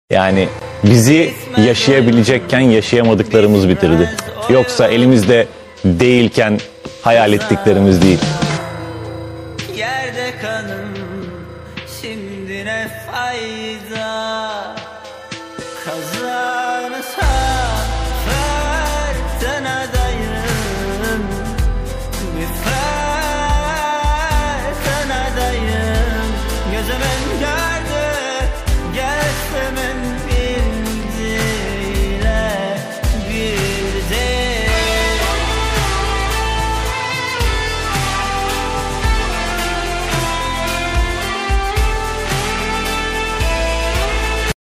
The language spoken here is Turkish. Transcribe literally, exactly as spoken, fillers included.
Yani bizi yaşayabilecekken yaşayamadıklarımız bitirdi. Yoksa elimizde değilken hayal ettiklerimiz değil. Yerde kanım şimdi ne fayda? Kazı